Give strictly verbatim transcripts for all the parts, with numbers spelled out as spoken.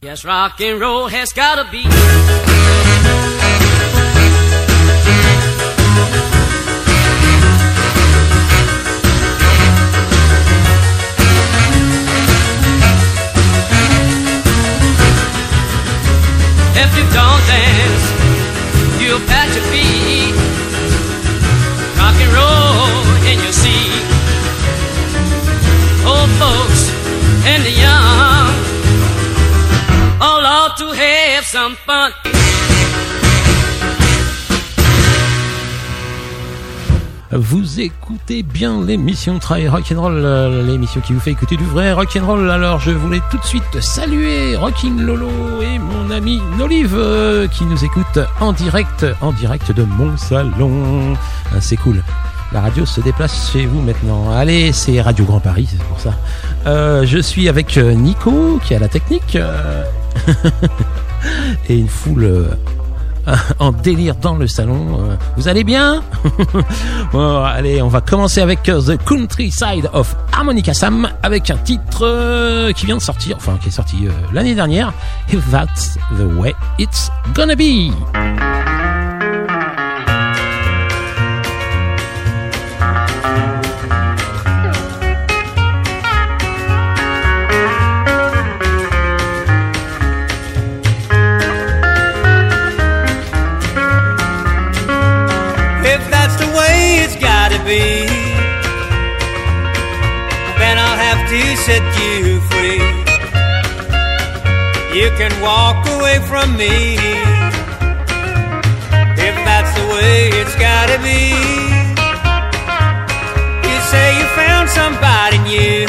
Yes, rock and roll has gotta be. If you don't dance, you'll pat your feet. Rock and roll in your seat. Old folks and the young all ought to have some fun. Vous écoutez bien l'émission Try Rock'n'Roll, l'émission qui vous fait écouter du vrai rock'n'roll. Alors je voulais tout de suite saluer Rockin' Lolo et mon ami Nolive euh, qui nous écoute en direct, en direct de mon salon. Ah, c'est cool. La radio se déplace chez vous maintenant. Allez, c'est Radio Grand Paris, c'est pour ça. Euh, je suis avec Nico qui a la technique euh... et une foule euh... en délire dans le salon. Vous allez bien? Bon, allez, on va commencer avec The Countryside of Harmonica Sam avec un titre qui vient de sortir, enfin qui est sorti l'année dernière. If That's the Way It's Gonna Be. Be, then I'll have to set you free. You can walk away from me if that's the way it's gotta be. You say you found somebody new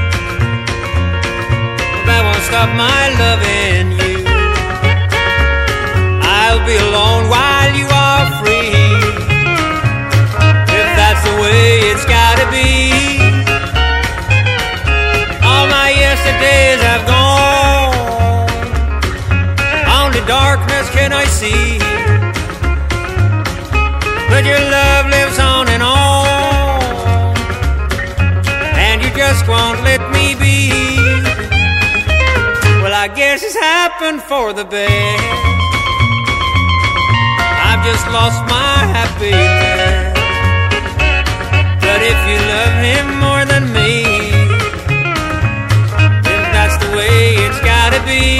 that won't stop my loving you. I'll be alone while you are free. That's the way it's gotta be. All my yesterdays have gone. Only darkness can I see. But your love lives on and on, and you just won't let me be. Well, I guess it's happened for the best. I've just lost my happiness. But if you love him more than me, then that's the way it's gotta be.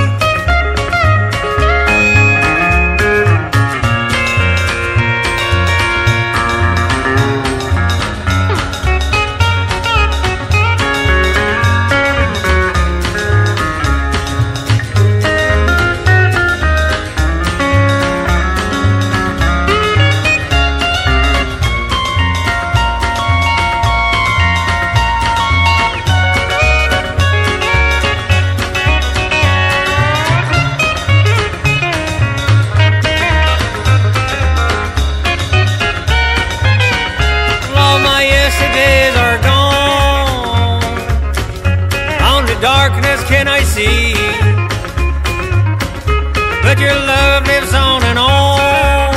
Can I see? But your love lives on and on,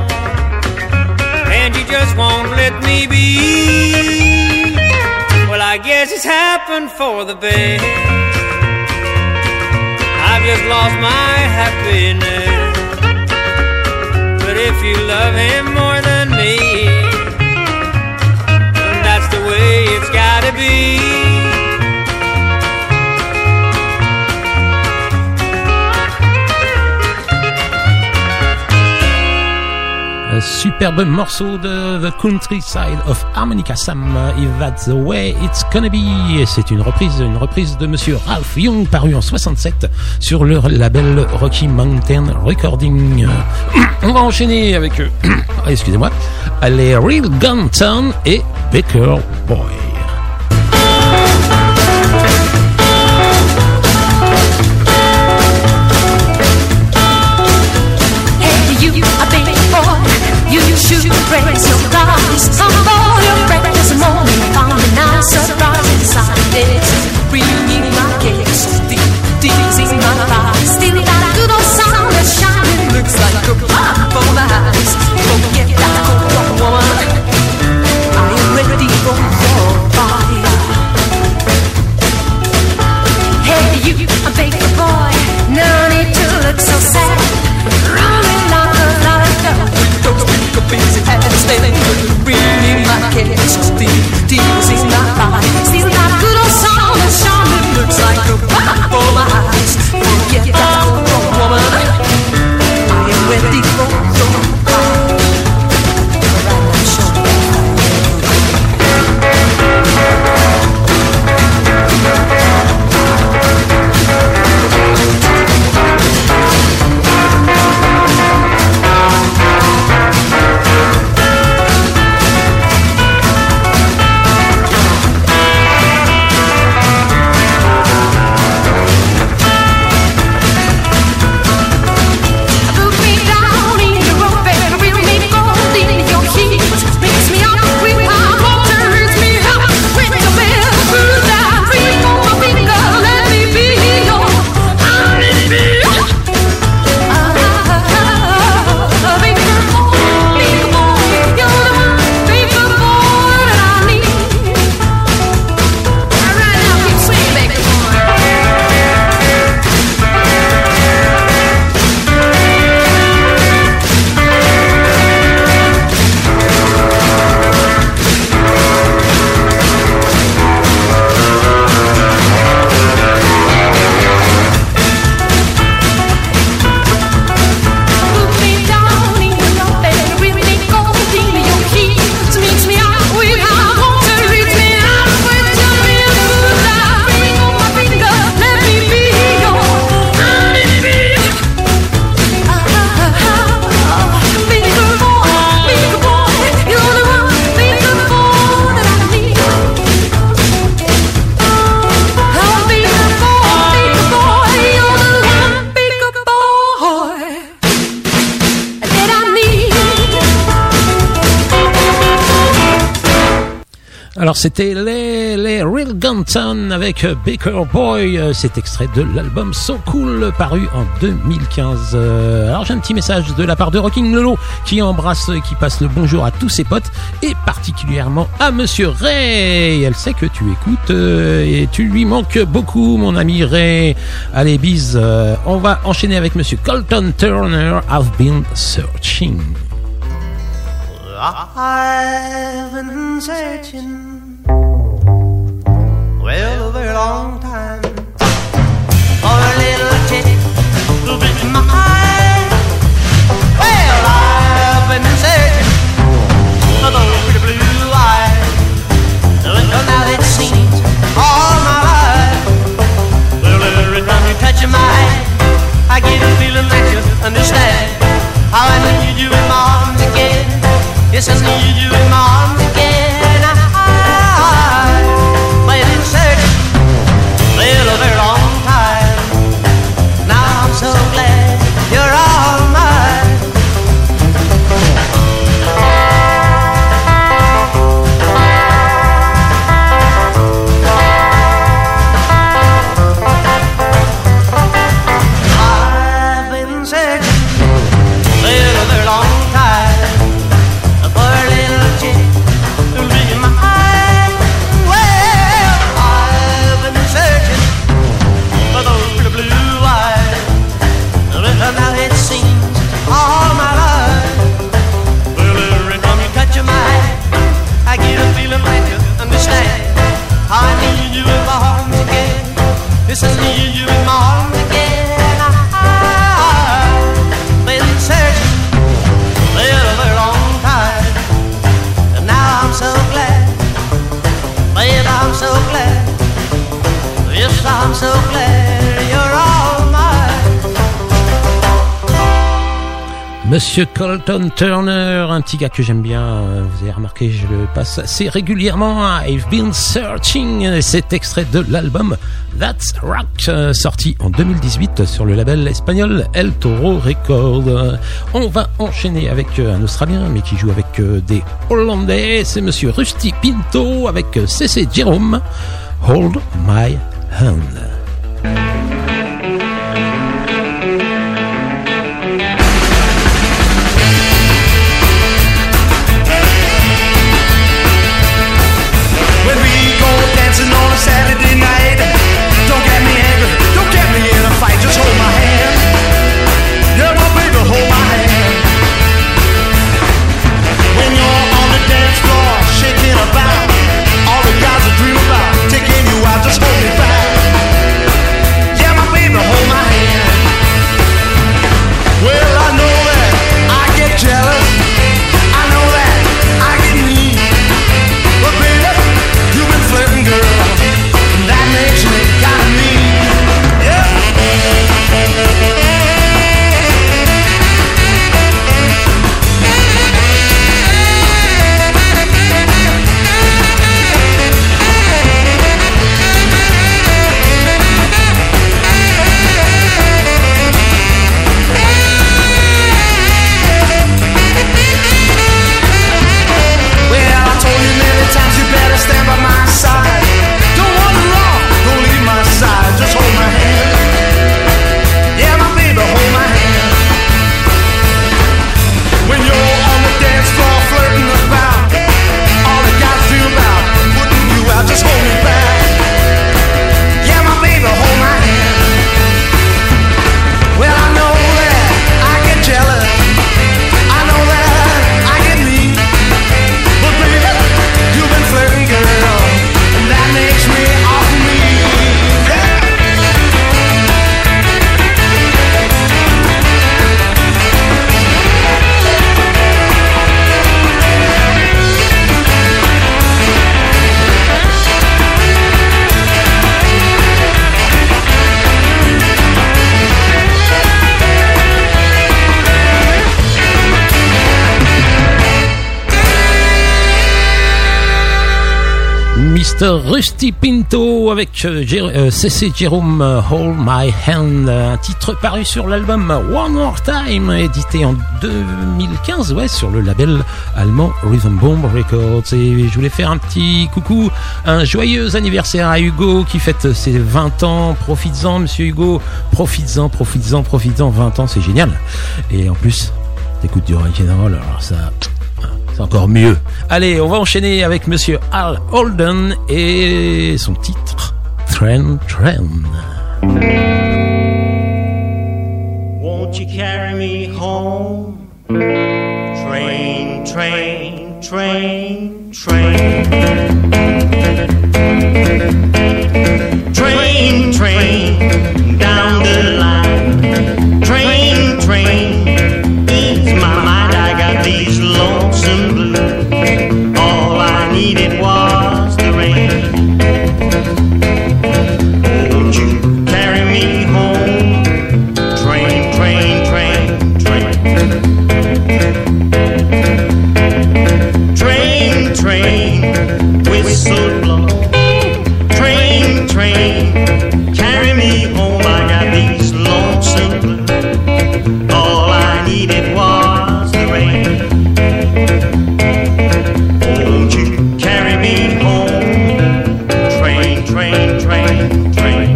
and you just won't let me be. Well, I guess it's happened for the best. I've just lost my happiness. But if you love him more than me, then that's the way it's gotta be. Un superbe morceau de The Countryside of Harmonica Sam, If That's the Way It's Gonna Be. Et c'est une reprise, une reprise de Monsieur Ralph Young, paru en soixante-sept sur le label Rocky Mountain Recording. On va enchaîner avec, euh, excusez-moi, les Real Gun Town et Baker Boy. Shoot, raise your glass, some for your friends this morning. Found a nice surprise inside this. Bringing my case, deep, deep in my thighs. Still that good old sun that's shining, looks like a pop for my eyes. Forget that cold woman, I am ready for war. alors c'était les, les Real Gunton avec Baker Boy, cet extrait de l'album So Cool paru en deux mille quinze. Alors j'ai un petit message de la part de Rocking Lolo qui embrasse, qui passe le bonjour à tous ses potes et particulièrement à Monsieur Ray. Elle sait que tu écoutes et tu lui manques beaucoup, mon ami Ray. Allez, bise. On va enchaîner avec Monsieur Colton Turner, I've Been Searching. I've been searching, well, a very long time, for a little chick who'll be mine. Well, I've been searching for those pretty blue eyes, well, now it seems all my life. Well, every time you touch my hand, I get a feeling that you understand how I need you in my arms again. Yes, I need you in my arms again. I've been searching, well, a very long time. Now I'm so glad you're all mine. I've been searching, well, a very long time. Now it seems all my life. Well, every time you touch my hand, I get a feeling like you understand how I need you in my arms again. Yes, I need you in my arms again. I've been searching, well, a very long time, and now I'm so glad, well, I'm so glad, yes, I'm so glad you're all mine. Monsieur Colton Turner, un petit gars que j'aime bien, vous avez remarqué, je le passe assez régulièrement. I've Been Searching, cet extrait de l'album That's Rock, sorti en deux mille dix-huit sur le label espagnol El Toro Records. On va enchaîner avec un Australien, mais qui joue avec des Hollandais, c'est Monsieur Rusty Pinto avec C C Jerome, Hold My Hand. Saturday night, don't get me angry, don't get me in a fight, just hold my hand. Yeah, my baby, hold my hand. When you're on the dance floor, shaking about, all the guys will dream about taking you out, just hold me back. Rusty Pinto avec euh, Jer- euh, C C Jerome euh, Hold My Hand, un titre paru sur l'album One More Time, édité en deux mille quinze, ouais, sur le label allemand Rhythm Bomb Records. Et je voulais faire un petit coucou, un joyeux anniversaire à Hugo qui fête ses vingt ans. Profites-en, monsieur Hugo, profites-en, profites-en, profites-en. vingt ans, c'est génial. Et en plus, t'écoutes du rock'n'roll, alors ça... c'est encore mieux. Allez, on va enchaîner avec monsieur Al Holden et son titre Train Train. Won't you carry me home? Train, train, train, train. Train, train, down the line. Train, train, ease my mind. I got these lonesome blues. All I needed was the rain. Won't you carry me home? Train, train, train, train. Train, train, whistle blow. Train, train, carry me home. I got these lonesome blues. All I needed was the rain. Won't you carry me home? Train, train, train, train.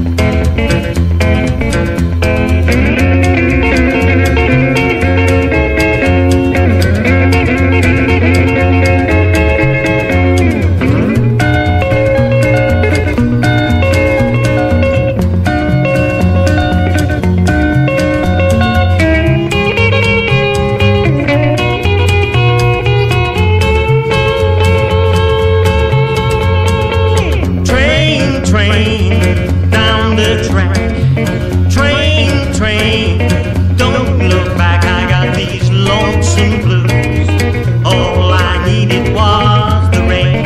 Train, train, down the track. Train, train, don't look back. I got these lonesome blues. All I needed was the rain.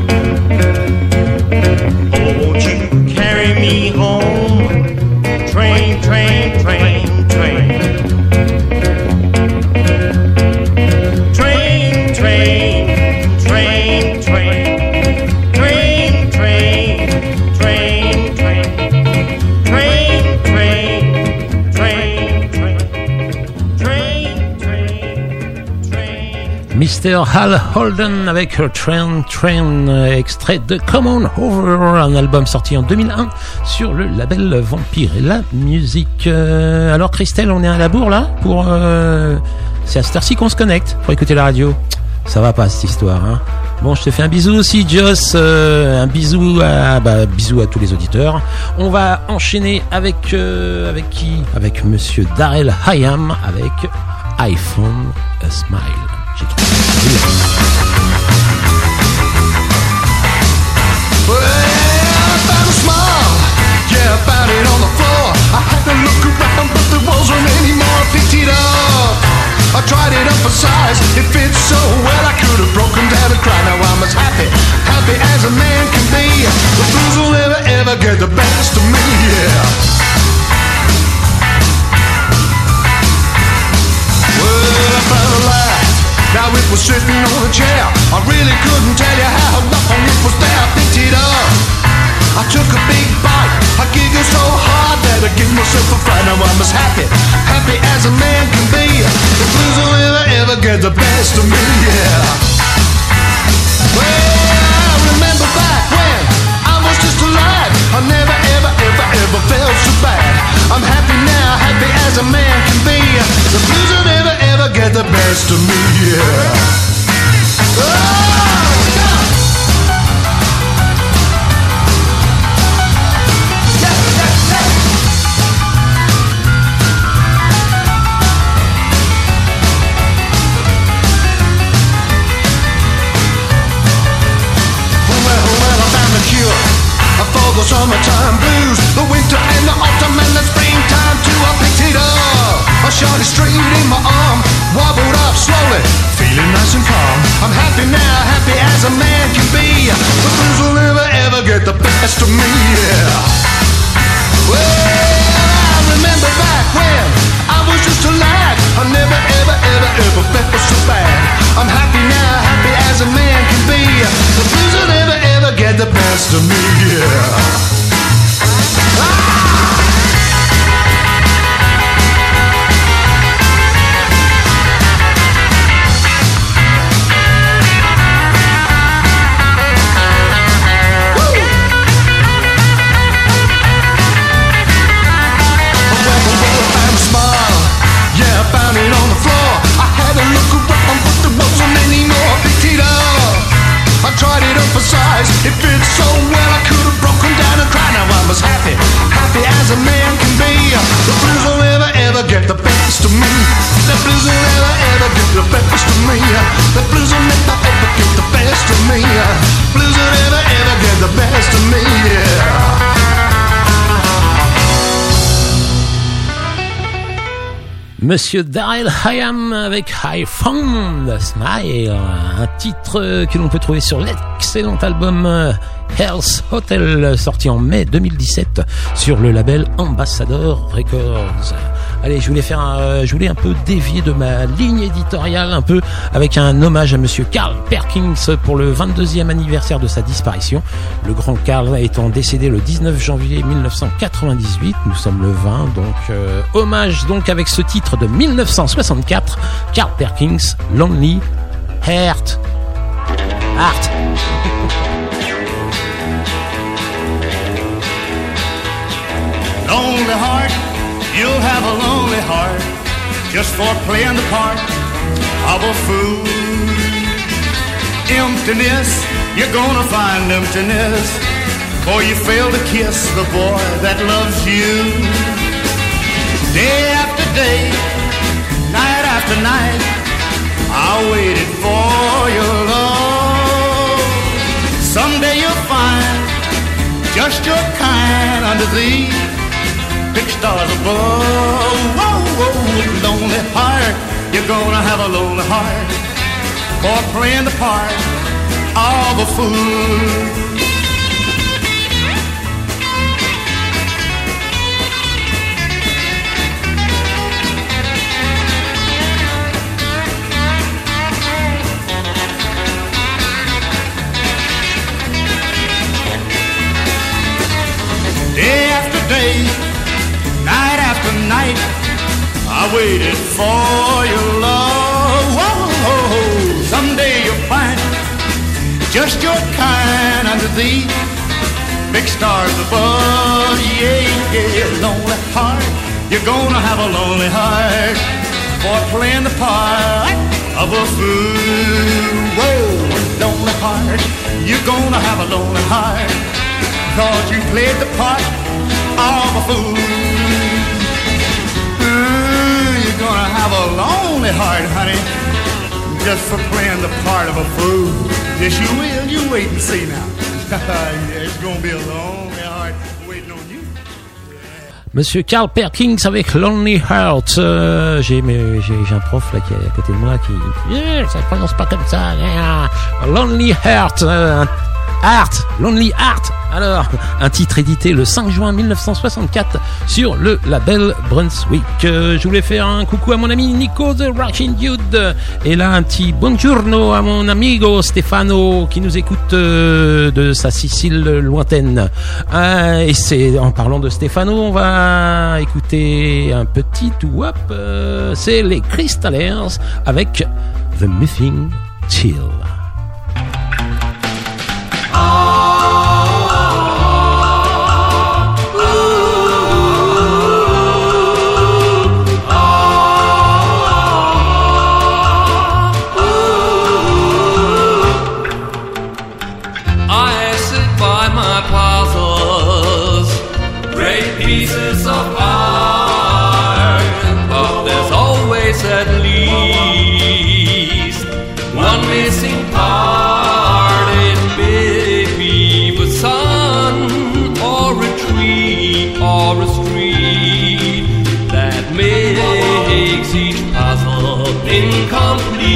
Oh, won't you carry me home? Train, train, train, train. Train, train, train, train. Train, train, train, train. Train, train, train, train. Train, train, train. mister Al Holden avec Train Train, euh, extrait de Come On Over, un album sorti en deux mille un sur le label Vampire et la musique. Euh, alors Christelle, on est à la bourre là pour euh, c'est à cette heure-ci qu'on se connecte pour écouter la radio. Ça va pas cette histoire, hein. Bon, je te fais un bisou aussi, Joss. Euh, un bisou à, bah, bisou à tous les auditeurs. On va enchaîner avec euh, avec qui? Avec Monsieur Darrell Hyam avec iPhone a Smile. J'ai trouvé ça brillant. Well, I found a smile, yeah, I found it on the floor. I had to look around, but there wasn't any more. I picked it up, I tried it up for size. It fits so well, I could have broken down and cried. Now I'm as happy, happy as a man can be. The blues will never ever get the best of me, yeah. Well, I found a laugh, now it was sitting on a chair. I really couldn't tell you how long it was there. I picked it up, I took a big bite. I giggled so hard that I gave myself a fright. Now I'm as happy, happy as a man can be. The blues will never ever get the best of me, yeah. Well, I remember back when I was just a lad. I never ever ever ever felt so bad. I'm happy now, happy as a man can be. The blues will never ever get the best of me, yeah. Oh! For the summertime blues, the winter and the autumn and the springtime too. I picked it up, I shot it straight in my arm, wobbled up slowly, feeling nice and calm. I'm happy now, happy as a man can be. The blues will never ever get the best of me, yeah. Well, I remember back when I was just a lad. I never ever ever ever felt so bad. I'm happy now, happy as a man can be. The blues will never ever get the Monsieur Daryl Hayam avec I Found a Smile, un titre que l'on peut trouver sur l'excellent album Hell's Hotel, sorti en mai deux mille dix-sept sur le label Ambassador Records. Allez, je voulais faire un, je voulais un peu dévier de ma ligne éditoriale un peu avec un hommage à monsieur Carl Perkins pour le vingt-deuxième anniversaire de sa disparition. Le grand Carl étant décédé le dix-neuf janvier mille neuf cent quatre-vingt-dix-huit, nous sommes le vingt, donc euh, hommage donc avec ce titre de mille neuf cent soixante-quatre, Carl Perkins, Lonely Heart. Heart. Lonely heart, you'll have a lonely heart just for playing the part of a fool. Emptiness, you're gonna find emptiness, for you fail to kiss the boy that loves you. Day after day, night after night, I waited for your love. Someday you'll find just your kind under these big stars above. Whoa, whoa, lonely heart, you're gonna have a lonely heart for playing the part of a fool. Day after day, night after night, I waited for your love. Whoa, someday you'll find just your kind under these big stars above. Yeah, yeah, lonely heart, you're gonna have a lonely heart for playing the part of a fool. Whoa, lonely heart, you're gonna have a lonely heart, 'cause you played the part of a fool. Ooh, you're gonna have a lonely heart, honey, just for playing the part of a fool. Yes, you will. You wait and see now. Yeah, it's gonna be a lonely heart waiting on you. Monsieur Carl Perkins avec Lonely Heart. Euh, j'ai, mais, j'ai, j'ai un prof là qui est à côté de moi qui, yeah, ça se prononce pas comme ça. Yeah. Lonely Heart. Euh, Heart, Lonely Heart. Alors, un titre édité le cinq juin mille neuf cent soixante-quatre sur le label Brunswick. Euh, je voulais faire un coucou à mon ami Nico the Rockin' Dude. Et là, un petit buongiorno à mon amigo Stefano qui nous écoute euh, de sa Sicile lointaine. Euh, et c'est en parlant de Stefano, on va écouter un petit wop. Euh, c'est les Crystallers avec The Missing Chill. Incomplete.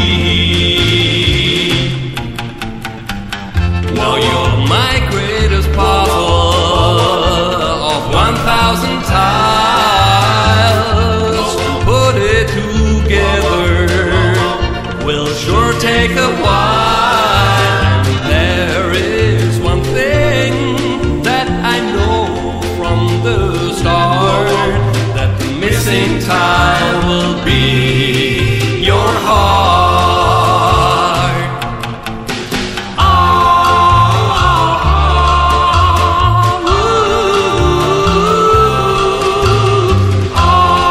Now you're my greatest puzzle of one thousand tiles. To put it together will sure take a while. And there is one thing that I know from the start, that the missing tile will be your heart. Ah, ooh, ah,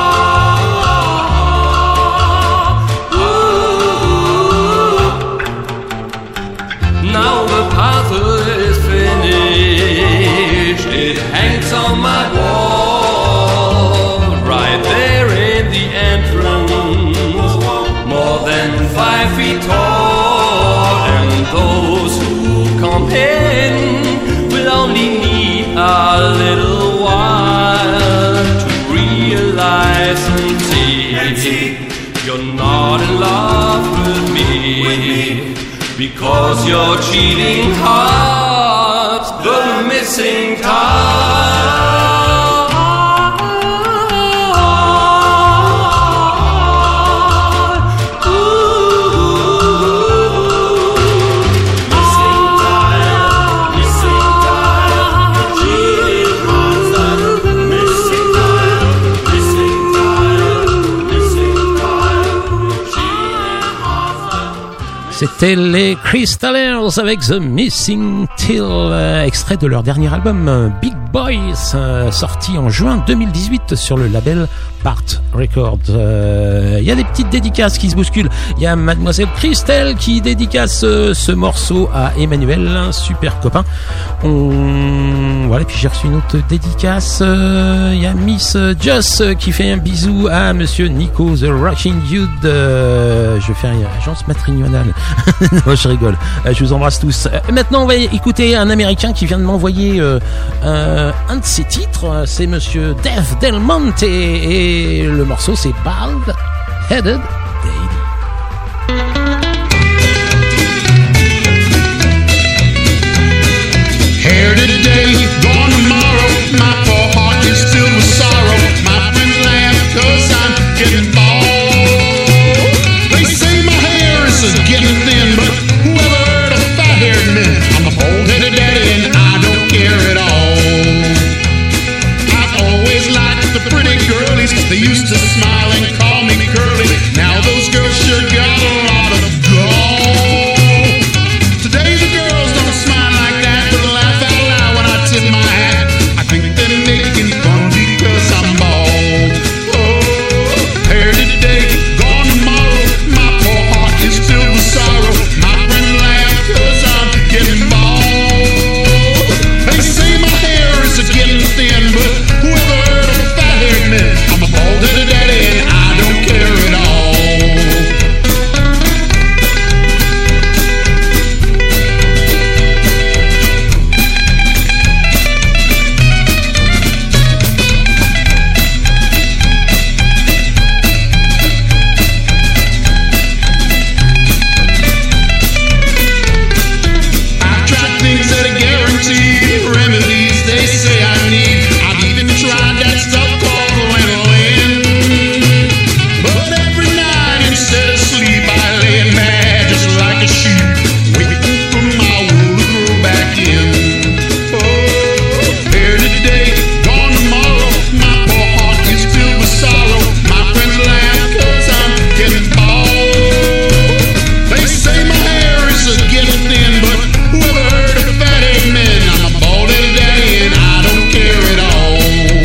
ooh. Now the puzzle is finished. It hangs on my wall, right there in the entrance You're not in love with me because your cheating heart's the missing time. C'était les Crystallers avec The Missing Till, euh, extrait de leur dernier album euh, Big Boys, euh, sorti en juin deux mille dix-huit sur le label Part Records. Il euh, y a des petites dédicaces qui se bousculent. Il y a Mademoiselle Christelle qui dédicace euh, ce morceau à Emmanuel, un super copain. On... Voilà, puis j'ai reçu une autre dédicace. Il euh, y a Miss Joss qui fait un bisou à Monsieur Nico The Rocking Dude. Euh, je vais faire une agence matrimoniale. Non, je rigole. Euh, je vous embrasse tous. Euh, maintenant, on va écouter un Américain qui vient de m'envoyer euh, un, un de ses titres. C'est Monsieur Dave Del Monte et le morceau c'est Bald Headed Daddy. Here today, gone tomorrow. My poor heart is filled with sorrow. My friends laugh cause I'm getting bald. They say my hair is getting thin, but whoever heard of fat-haired men? I'm a bald-headed daddy and I don't care at all. I've always liked the pretty girlies. They used to smile and call me curly. Now those girls sure got a lot of gall. Today the girls don't smile like that, but laugh out loud when I tip my hat. I think they're making fun because I'm bald. Oh, here today, gone tomorrow. My poor heart is filled with sorrow. My friends laugh cause I'm getting bald. They say my hair is getting thin, but whoever heard of a fat-haired man? I'm a bald-headed daddy and I don't care at all. I've tried things that are guaranteed, remedies they say I need. I've even tried that stuff called lanolin. But every night instead of sleep I lay mad just like a sheep, waiting for my wool to grow back in. Oh, here today, gone tomorrow. My poor heart is filled with sorrow. My friends laugh cause I'm getting bald. They say my hair is getting thin, but whoever heard of fat-headed men? I'm a bald-headed daddy and I don't care at all.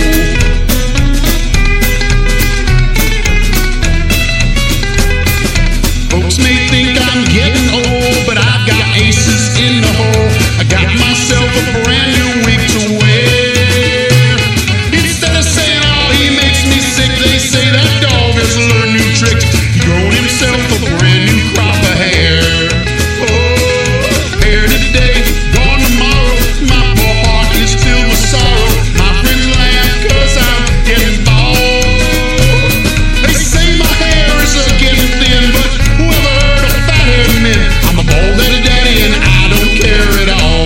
Folks may think I'm getting old, but I've got aces in the hole. I got myself a brand new wig to wear. Instead of saying, oh, he makes me sick, they say that dog has learned new tricks. He grown himself a brand new crop of hair. Oh, here today, gone tomorrow. My poor heart is filled with sorrow. My friends laugh cause I'm getting bald. They say my hair is getting thin, but whoever heard of fat-haired men? I'm a bald-headed daddy and I don't care at all.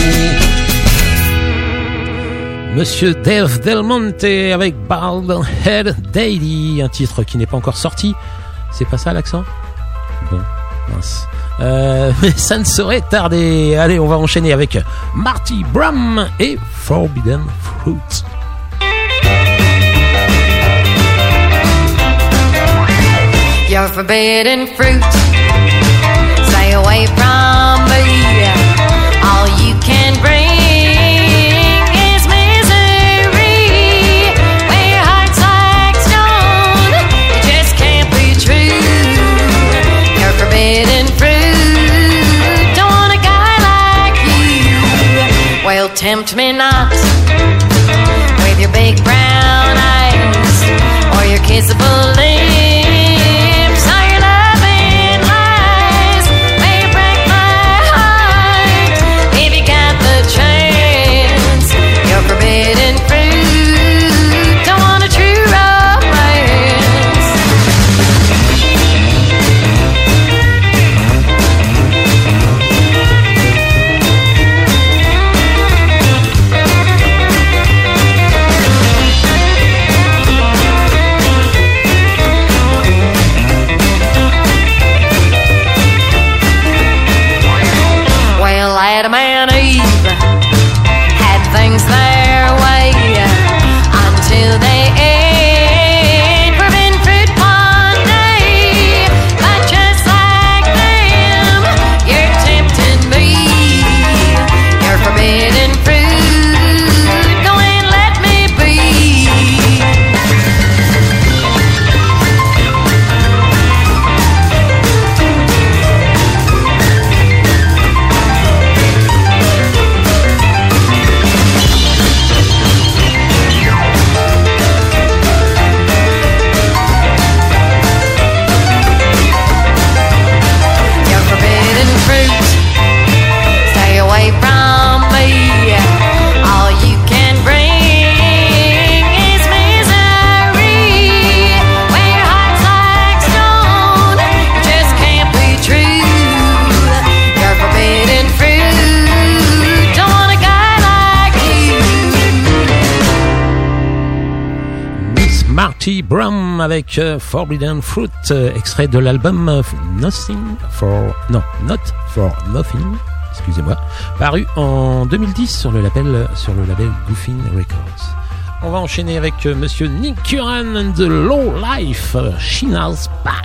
Monsieur Dave Del Monte avec Bald Head Daddy, un titre qui n'est pas encore sorti. C'est pas ça l'accent? Bon, mince. Euh, mais ça ne saurait tarder. Allez, on va enchaîner avec Marty Brum et Forbidden Fruit. You're forbidden fruit. Stay away from me. All you can bring is misery. When your heart's like stone, it just can't be true. You're forbidden fruit. Don't want a guy like you. Well, tempt me not with your big brown eyes or your kissable lips. Forbidden fruit, don't want a true romance. Marty Brown avec euh, Forbidden Fruit, euh, extrait de l'album euh, Nothing for... Non, Not for Nothing, excusez-moi, paru en deux mille dix sur le label, sur le label Goofin Records. On va enchaîner avec euh, monsieur Nick Curran and the Low Life, euh, Sheena's Back.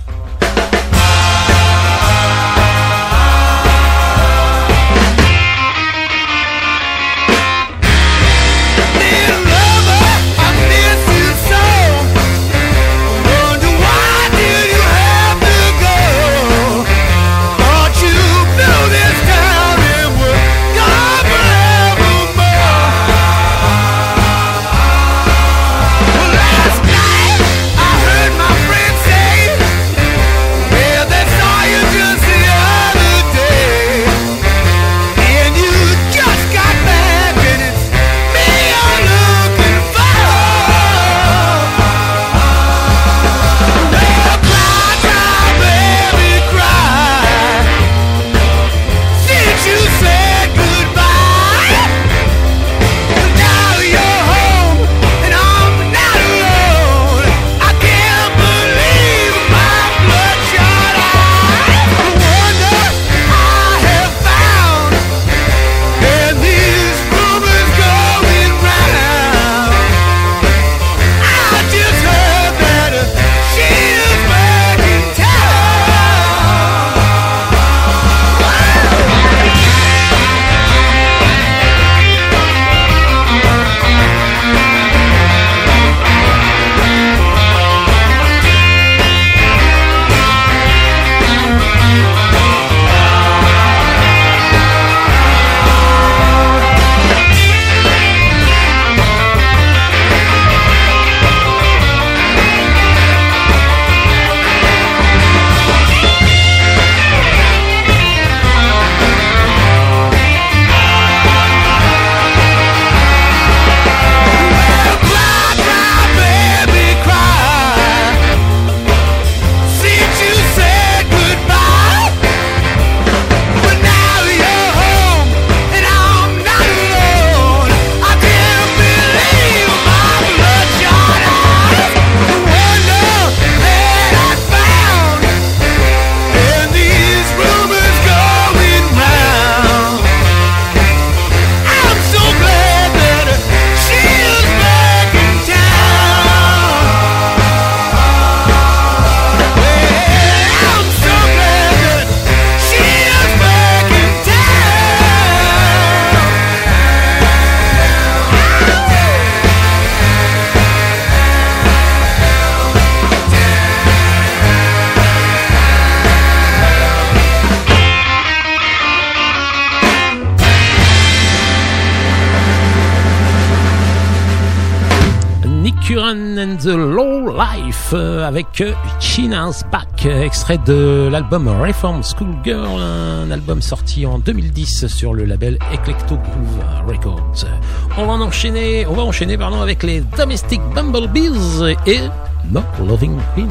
Curran and the Low Life euh, avec euh, Sheena's Back, euh, extrait de l'album Reform Schoolgirl, un album sorti en deux mille dix sur le label Eclecto Groove Records. On va en enchaîner, on va enchaîner pardon, avec les Domestic Bumblebees et No Loving Queen.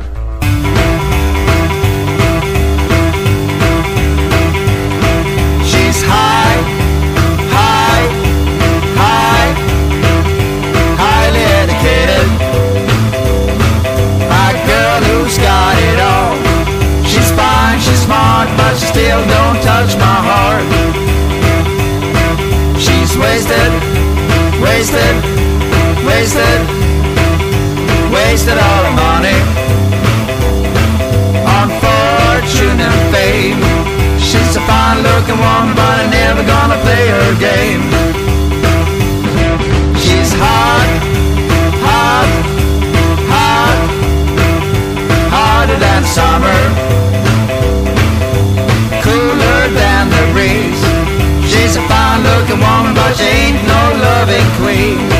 She's high, high, high, highly educated. A girl who's got it all. She's fine, she's smart, but she still don't touch my heart. She's wasted, wasted, wasted, wasted all her money on fortune and fame. She's a fine-looking woman, but I'm never gonna play her game. She's hot, hot, hot, hotter than summer, cooler than the breeze. She's a fine-looking woman, but she ain't no loving queen.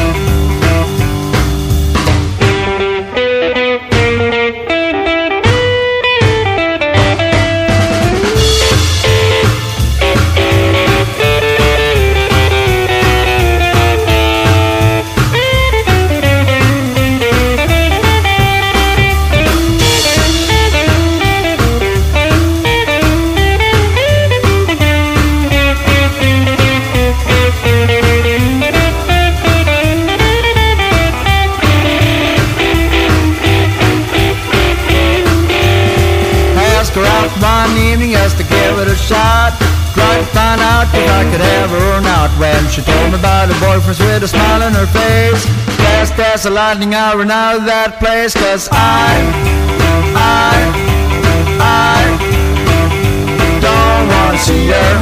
her out one evening just to give it a shot. Tried to find out if I could have her or not. When she told me about her boyfriend with a smile on her face, fast as a lightning I ran out of that place. Cause I, I, I don't wanna see her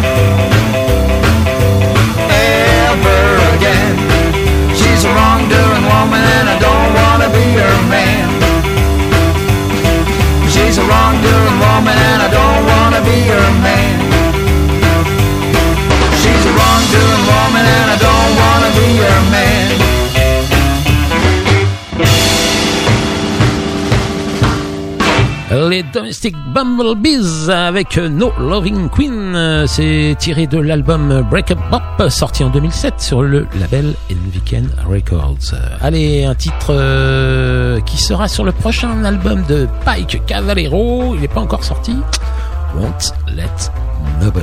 ever again. She's a wrongdoing woman and I don't wanna be her man. She's a wrongdoing woman and I don't wanna be her man. She's a wrongdoing woman and I don't wanna be her man. Les Domestic Bumblebees avec No Loving Queen, c'est tiré de l'album Break Up Bop sorti en deux mille sept sur le label Inviken Records. Allez, un titre euh, qui sera sur le prochain album de Pike Cavallero, il n'est pas encore sorti, Won't Let Nobody.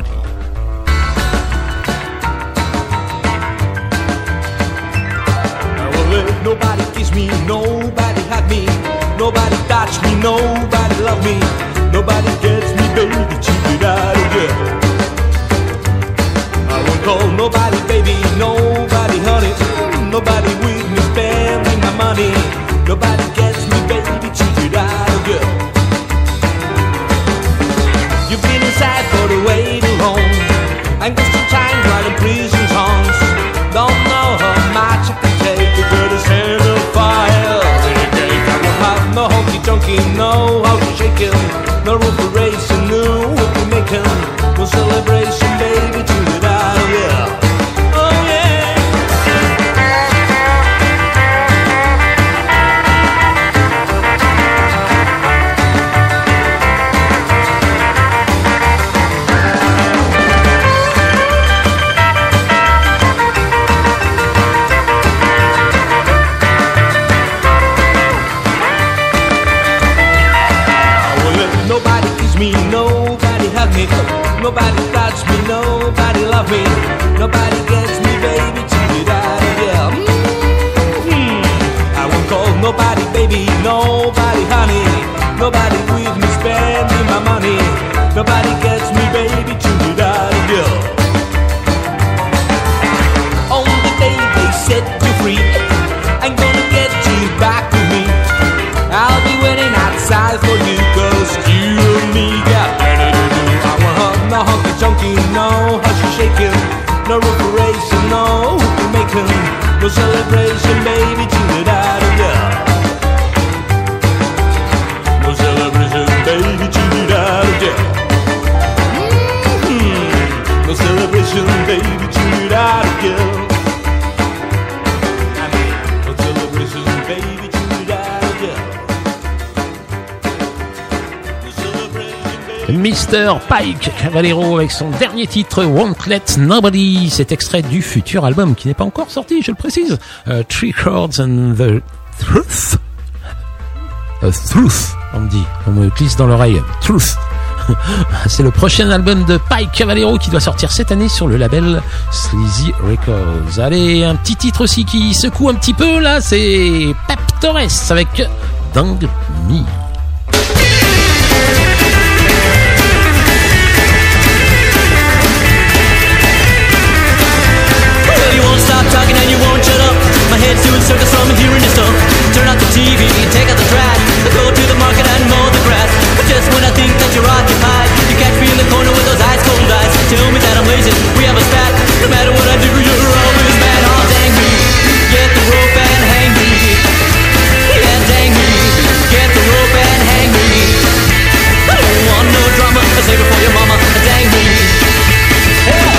Nobody kiss me, nobody hug me, nobody touch me, nobody love me, nobody gets me, baby, cheated out of girl. I won't call nobody baby, nobody honey, nobody with me spending my money, nobody gets me, baby, cheated out of girl. You've been inside for the way too long, and got some time writing prison songs. Don't know how much I can take to go to send a fire. I won't have no honky tonky, no how to shake it, no room for racing, no what we making, no celebration, baby, to it out of here. Oh yeah. Me, nobody hug me, nobody touch me, nobody love me, nobody gets me, baby, cheated out of here. Mm-hmm. I won't call nobody baby, nobody honey, nobody with me spending my money, nobody gets me, baby, cheated out of here. On the day they set you free, I'm gonna get you back to me. I'll be waiting outside for you, cause you and me got plenty to do. I won't hug no honky chunky, no how she shaking, no reparation, no hoopy making, no celebration, baby, chill it out of ya. No celebration, baby, chill it out of ya. Mm-hmm. No celebration, baby, chill it out of ya. No celebration, baby, chill it out of ya. Mister Pike Cavallero avec son dernier titre Won't Let Nobody, cet extrait du futur album qui n'est pas encore sorti, je le précise, uh, Three Chords and the Truth. Uh, truth, on me dit, on me glisse dans l'oreille, Truth. C'est le prochain album de Pike Cavallero qui doit sortir cette année sur le label Sleazy Records. Allez, un petit titre aussi qui secoue un petit peu là, c'est Pep Torres avec Dang Me. You won't stop talking and you won't shut up. My head's doing circus from hearing your stuff. Turn out the T V, take out the trash. Go to the market and mow the grass. But just when I think that you're occupied, you catch me in the corner with those ice cold eyes. Tell me that I'm lazy, we have a spat. No matter what I do, you're always mad. Oh dang me, get the rope and hang me. Yeah dang me, get the rope and hang me. I don't want no drama, save it for your mama. Dang me, yeah.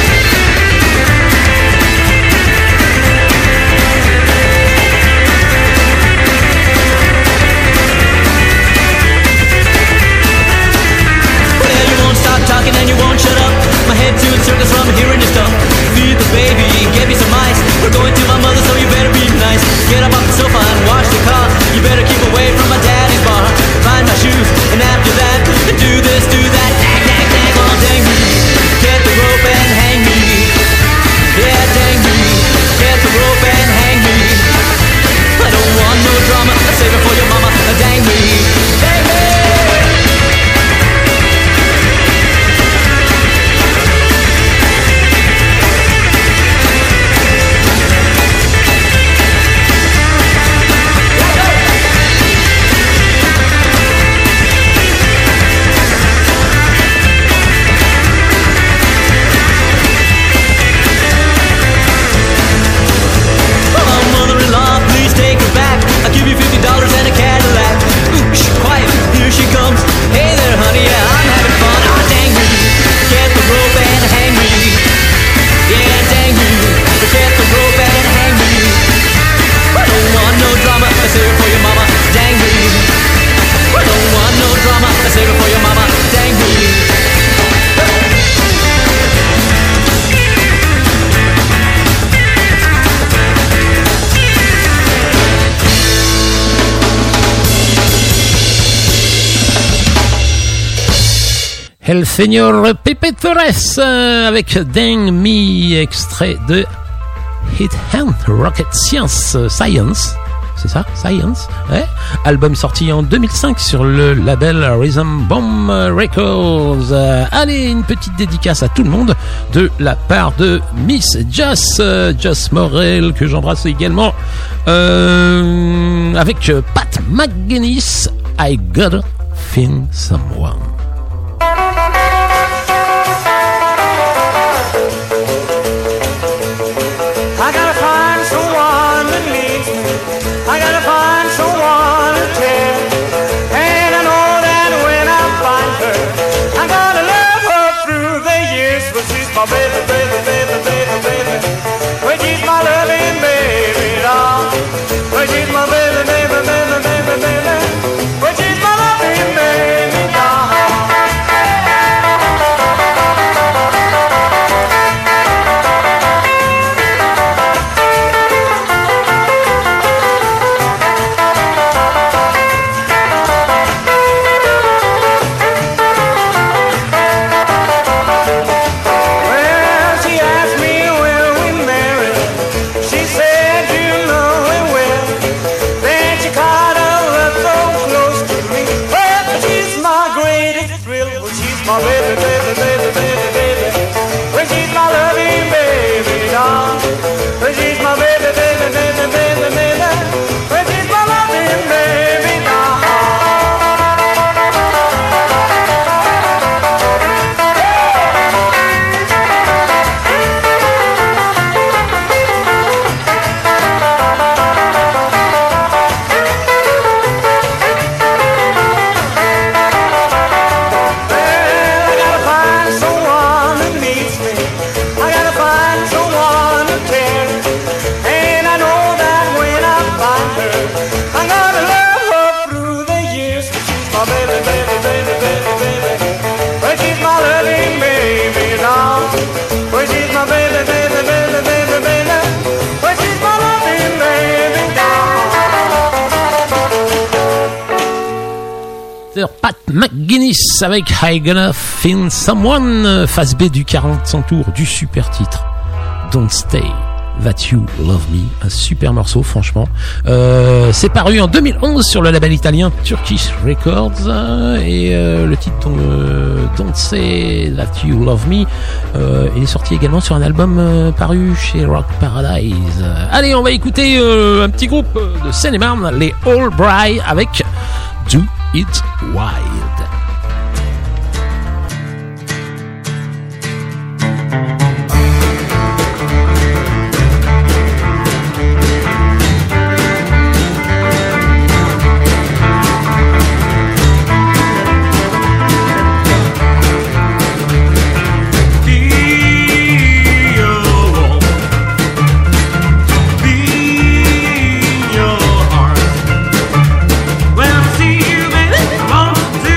El Señor Pepe Torres euh, avec Dang Me, extrait de Hit Hand Rocket Science, euh, Science, c'est ça, Science, ouais. Album sorti en deux mille cinq sur le label Rhythm Bomb Records. Euh, allez, une petite dédicace à tout le monde de la part de Miss Joss, euh, Joss Morel, que j'embrasse également, euh, avec Pat McGuinness, I Gotta Find Someone. I gotta find someone that needs me. I gotta find someone to tell. And I know that when I find her, I'm gonna love her through the years. But she's my baby, baby, baby, baby, baby. But she's my loving baby doll. But she's my baby, baby, baby, baby, baby. But she's my loving baby doll. My baby, baby, baby, baby, baby. When she's my loving baby doll. When she's my baby, baby, baby, baby, baby. When she's my loving baby doll. Pat McGuinness avec I Gonna Find Someone, phase B du quarante tours du super titre Don't Stay That You Love Me, un super morceau franchement. Euh, c'est paru en deux mille onze sur le label italien Turkish Records euh, et euh, le titre euh, Don't Say That You Love Me euh, il est sorti également sur un album euh, paru chez Rock Paradise. Euh, allez, on va écouter euh, un petit groupe de Seine-et-Marne, les All Bright avec Do It Wild. Well, I see you, baby, I want to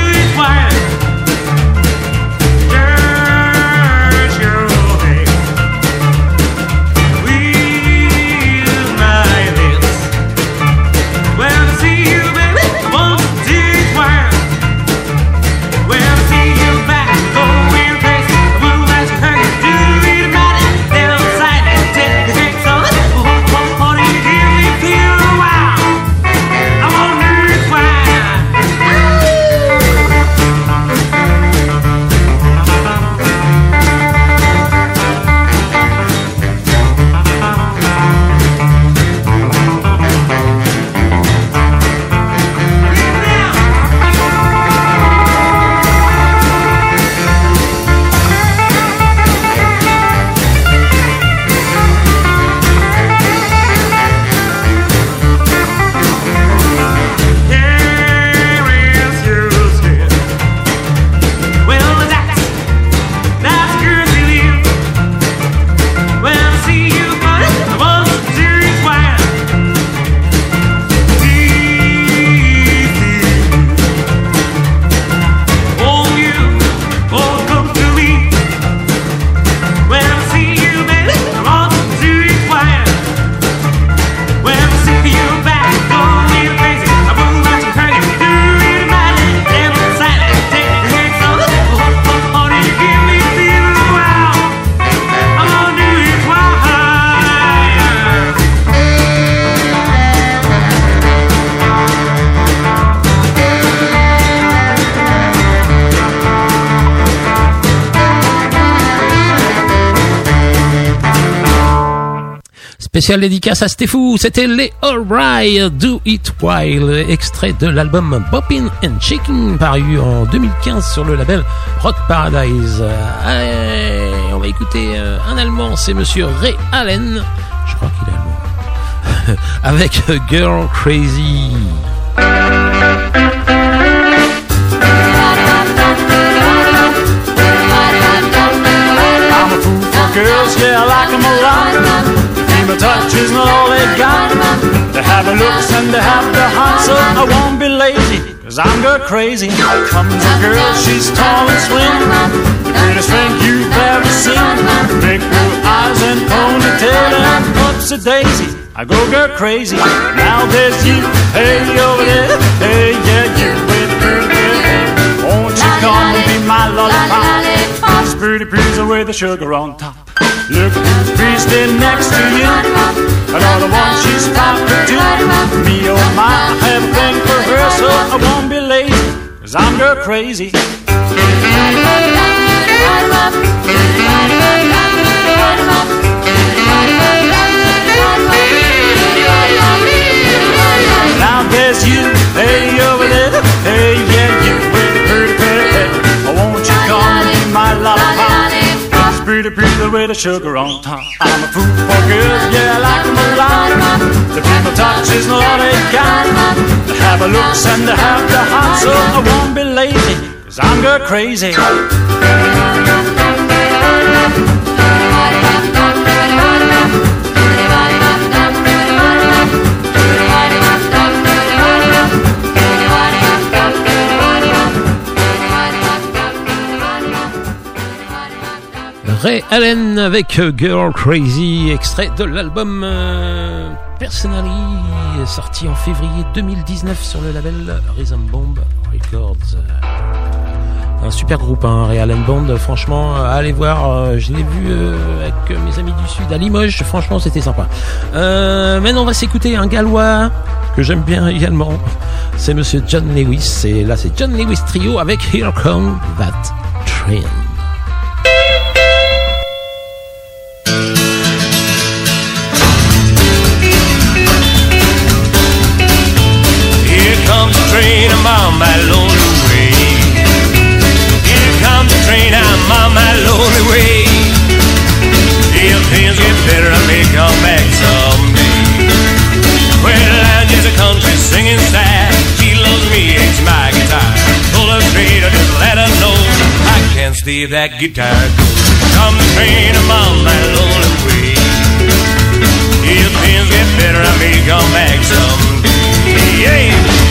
Spécial dédicace à Stéphou, c'était les Alright, Do It While, extrait de l'album Boppin' and Chicken, paru en deux mille quinze sur le label Rock Paradise. Allez, on va écouter un Allemand, c'est monsieur Ray Allen, je crois qu'il est allemand, avec Girl Crazy. Girls, yeah, I like them a lot. Female touch is not all they got. They have the looks and they have the heart, so I won't be lazy, cause I'm girl crazy. Comes a girl, she's tall and slim, prettiest thing you've ever seen. Big blue eyes and ponytail and upsy daisy, I go girl crazy. Now there's you, hey over there, hey yeah, you with pretty good hair. Won't you come and be my lollipop? Pretty please with the sugar on top. Look who's standing next to you, another one she's talking to. Me oh my, I have a thing for her, so I won't be lazy, cause I'm girl crazy. Now there's you, hey over there, hey yeah you with the pretty pretty hair. Oh won't you come and be my lollipop? Pretty pretty with the sugar on top. I'm a fool for girls, yeah I like them a lot. The female touch is not all they got. They have a looks and they have the heart, so I won't be lazy, cause I'm girl crazy. Ray Allen avec Girl Crazy, extrait de l'album euh, Personally, sorti en février deux mille dix-neuf sur le label Rhythm Bomb Records. Un super groupe, hein, Ray Allen Band, franchement, allez voir, euh, je l'ai vu euh, avec mes amis du Sud à Limoges, franchement c'était sympa. Euh, maintenant on va s'écouter un gallois que j'aime bien également, c'est monsieur John Lewis, et là c'est John Lewis Trio avec Here Come That Train. Train, I'm on my lonely way. Here comes the train, I'm on my lonely way. If things get better, I may come back someday. Well, I'm just a country singing star. She loves me, it's my guitar. Pull her straight, or just let her know I can't stay if that guitar goes. Come the train, I'm on my lonely way. If things get better, I may come back someday. Yeah.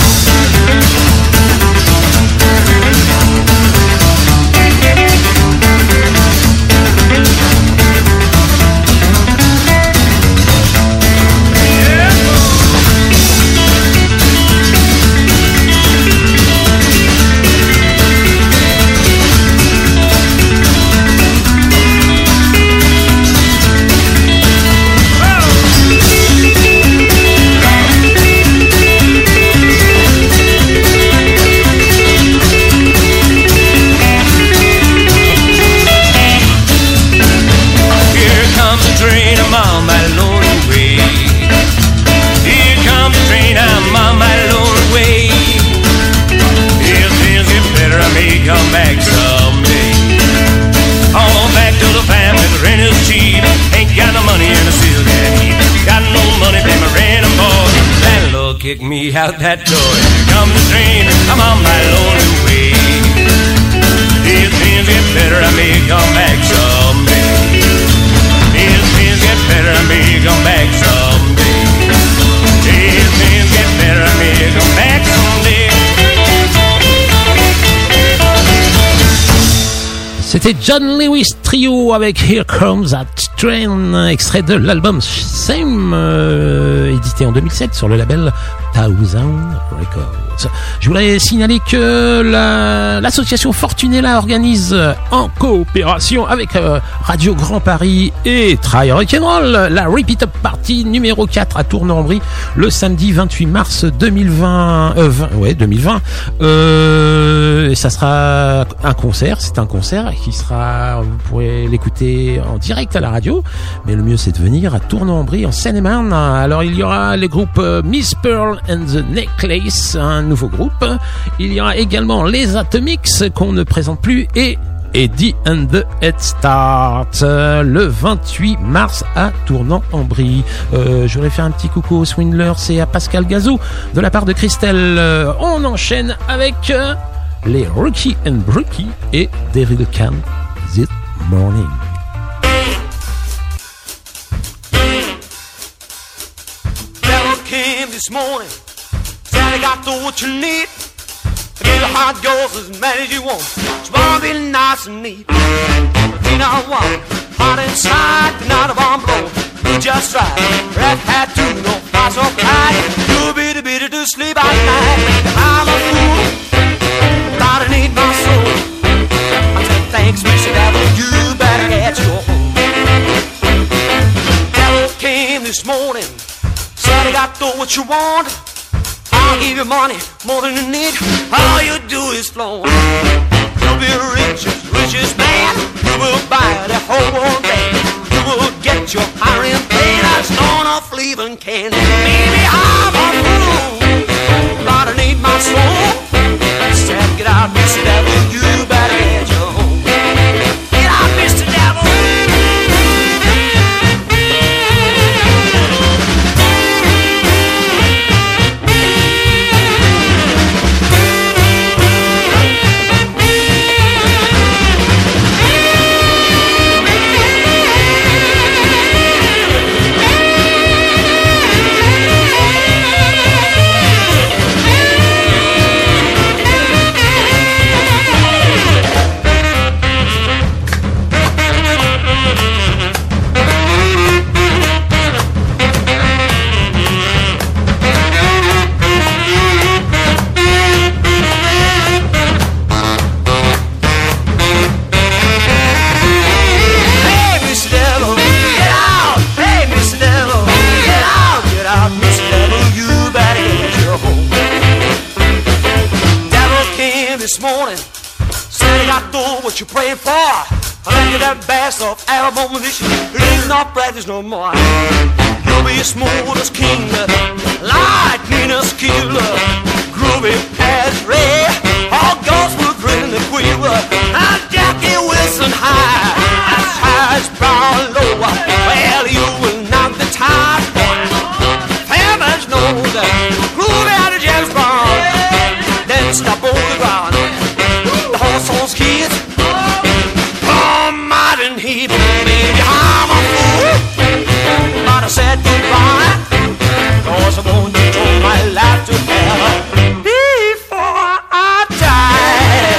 Come back someday. All back to the family, the rent is cheap. Ain't got no money and I still can't eat. Got no money, pay my rent and board. Landlord kicked me out that door. Here comes the train, I'm on my lonely way. If things get better, I may come back someday. If things get better, I may come back someday. If things get better, I may come back someday. C'était John Lewis Trio avec Here Comes That Train, extrait de l'album Same, euh, édité en deux mille sept sur le label Thousand Records. Je voudrais signaler que la, l'association Fortunella organise en coopération avec euh, Radio Grand Paris et Try Rock'n'Roll la Repeat Up Party numéro quatre à Tournan-en-Brie le samedi vingt-huit mars deux mille vingt. Euh, vingt, ouais, deux mille vingt. Euh, ça sera un concert, c'est un concert qui sera, vous pourrez l'écouter en direct à la radio, mais le mieux c'est de venir à Tournan-en-Brie en Seine-et-Marne. Alors il y aura les groupes euh, Miss Pearl and the Necklace, un nouveau groupe. Il y aura également les Atomics qu'on ne présente plus et Eddie and the Head Start euh, le vingt-huit mars à Tournan-en-Brie. Euh, je voudrais faire un petit coucou aux Swindlers et à Pascal Gazou de la part de Christelle. Euh, on enchaîne avec euh, les Rookie and Brookie et Devil Can This Morning. Devil came this morning, said I got to what you need. I give you hot girls as many as you want. It's gonna be nice and neat. You know what? Hot inside, but not a bomb blow. You just right. Red hat too, no fire so bright. You bitty bitty to sleep at night. I'm a fool, gotta need my soul. I said thanks, Mister Devil. You better get your home. Devil came this morning, said I got to what you want. I'll give you money more than you need. All you do is flow. You'll be rich as richest man. You will buy the whole world band. You will get your iron plane that's on a Cleveland can. Baby, I'm a fool, but I need my soul. Said, get out, Mister Devil. You better get your home. Get out, Mister Devil. This morning, said I got to what you praying for. I let you that best of album this year. It ain't not practice no more. You'll be smooth as king, lightning as killer, groovy as Ray. All gospel grin the quiver. And Jackie Wilson high, as high as Brown low. Well, you will knock the tide, boy. Famous knows that groovy out of James Brown. Then stop on the ground. The horse kids, oh, modern heat, baby, I'm a fool. But I said goodbye, cause I want to throw my life to hell before I die.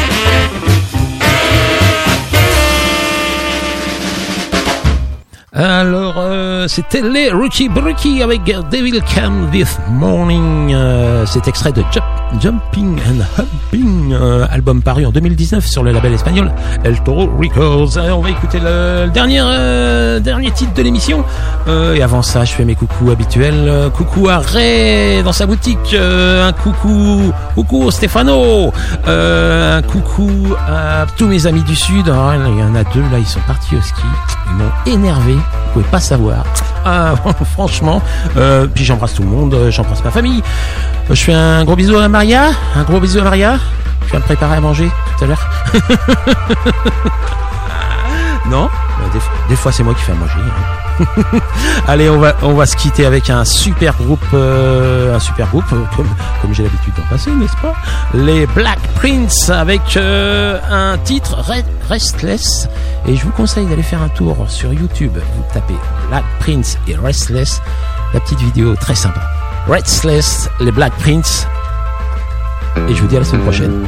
Alors, euh, c'était les Rookie Brookie avec Devil Came This Morning. Euh, c'est extrait de Jump, Jumping and Humping, euh, album paru en deux mille dix-neuf sur le label espagnol El Toro Records. Alors, on va écouter le, le dernier, euh, dernier titre de l'émission. Euh, et avant ça, je fais mes coucous habituels. Euh, coucou à Ray dans sa boutique. Euh, un coucou, coucou Stefano. Euh, un coucou à tous mes amis du Sud. Alors, il y en a deux là, ils sont partis au ski. Ils m'ont énervé. Vous pouvez pas savoir. Ah, franchement. Euh, puis j'embrasse tout le monde. J'embrasse ma famille. Je fais un gros bisou à Maria. Un gros bisou à Maria. Je vais me préparer à manger tout à l'heure. Non, des, des fois c'est moi qui fais à manger. Hein. Allez, on va on va se quitter avec un super groupe, euh, un super groupe comme comme j'ai l'habitude d'en passer, n'est-ce pas? Les Black Prince avec euh, un titre Restless. Et je vous conseille d'aller faire un tour sur YouTube. Vous tapez Black Prince et Restless. La petite vidéo très sympa. Restless, les Black Prince. Et je vous dis à la semaine prochaine.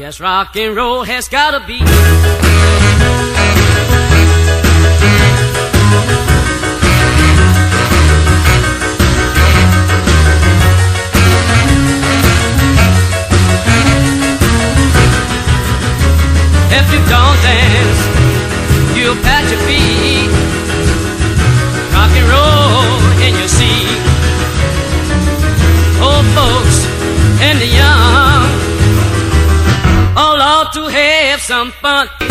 Yes, rock and roll has gotta be. If you don't dance, you'll pat your feet. Rock and roll in your seat. Old folks and the young all ought to have some fun.